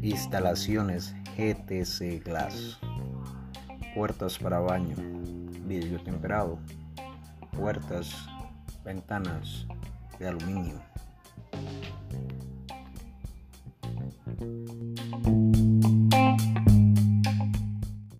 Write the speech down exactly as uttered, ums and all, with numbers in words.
Instalaciones G T C Glass. Puertas para baño, vidrio temperado. Puertas, ventanas de aluminio.